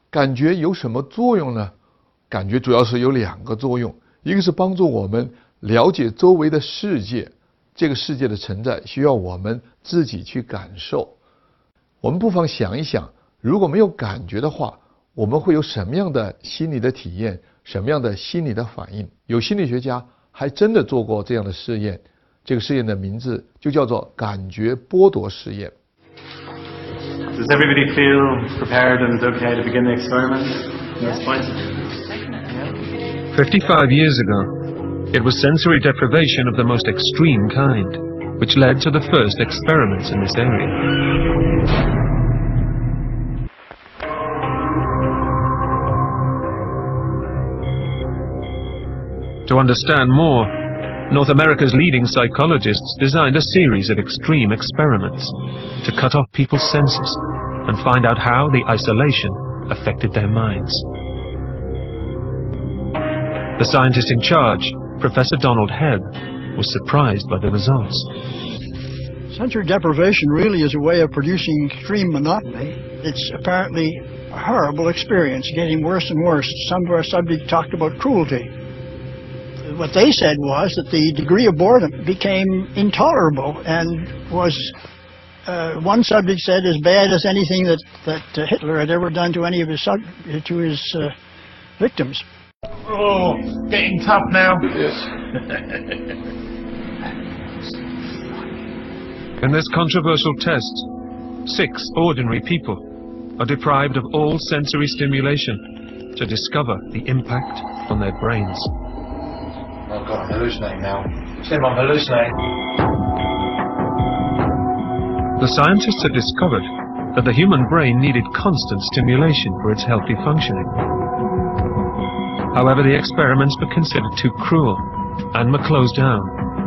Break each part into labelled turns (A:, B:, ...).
A: 感觉有什么作用呢？感觉主要是有2个作用，一个是帮助我们了解周围的世界，这个世界的存在需要我们自己去感受。我们不妨想一想，如果没有感觉的话，我们会有什么样的心理的体验，什么样的心理的反应？有心理学家还真的做过这样的试验，这个试验的名字就叫做感觉剥夺试验。
B: Does everybody feel prepared and okay to begin the experiment at this point?
C: 55 years ago, it was sensory deprivation of the most extreme kind, which led to the first experiments in this area. To understand more, North America's leading psychologists designed a series of extreme experiments to cut off people's senses and find out how the isolation affected their minds. The scientist in charge, Professor Donald Hebb, was surprised by the results.
D: Sensory deprivation really is a way of producing extreme monotony. It's apparently a horrible experience, getting worse and worse. Some of our subjects talked about cruelty. What they said was that the degree of boredom became intolerable and was, one subject said, as bad as anything that Hitler had ever done to any of his victims.
B: Oh, getting tough now.
C: In this controversial test, 6 ordinary people are deprived of all sensory stimulation to discover the impact on their brains.
B: Oh God, I'm hallucinating now. Tim, I'm hallucinating.
C: The scientists had discovered that the human brain needed constant stimulation for its healthy functioning. However, the experiments were considered too cruel and were closed down.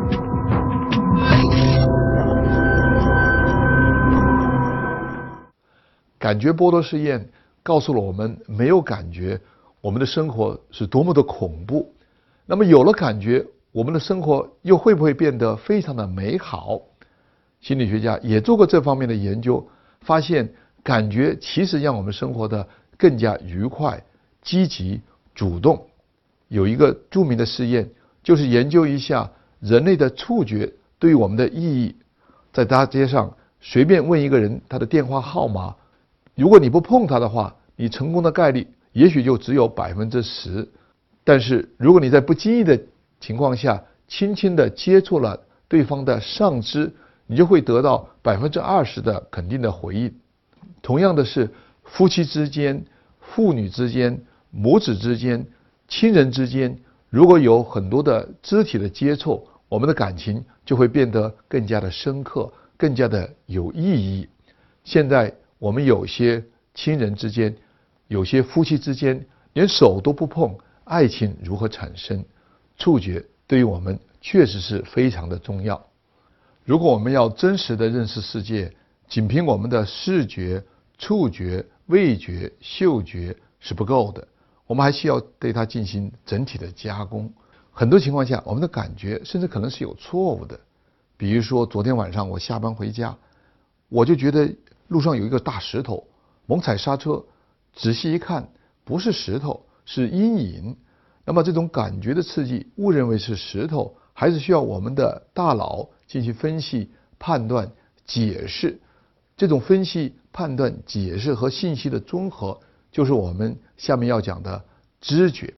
A: "感觉剥夺试验告诉了我们，没有感觉，我们的生活是多么的恐怖。那么有了感觉，我们的生活又会不会变得非常的美好？心理学家也做过这方面的研究，发现感觉其实让我们生活的更加愉快、积极、主动。有一个著名的试验，就是研究一下人类的触觉对于我们的意义。在大街上随便问一个人他的电话号码，如果你不碰他的话，你成功的概率也许就只有10%。但是如果你在不经意的情况下轻轻地接触了对方的上肢，你就会得到20%的肯定的回应。同样的是，夫妻之间、父女之间、母子之间、亲人之间，如果有很多的肢体的接触，我们的感情就会变得更加的深刻，更加的有意义。现在我们有些亲人之间，有些夫妻之间连手都不碰，爱情如何产生？触觉对于我们确实是非常的重要。如果我们要真实的认识世界，仅凭我们的视觉、触觉、味觉、嗅觉是不够的，我们还需要对它进行整体的加工。很多情况下，我们的感觉甚至可能是有错误的。比如说昨天晚上我下班回家，我就觉得路上有一个大石头，猛踩刹车，仔细一看，不是石头，是阴影。那么这种感觉的刺激，误认为是石头，还是需要我们的大脑进行分析、判断、解释。这种分析、判断、解释和信息的综合，就是我们下面要讲的知觉。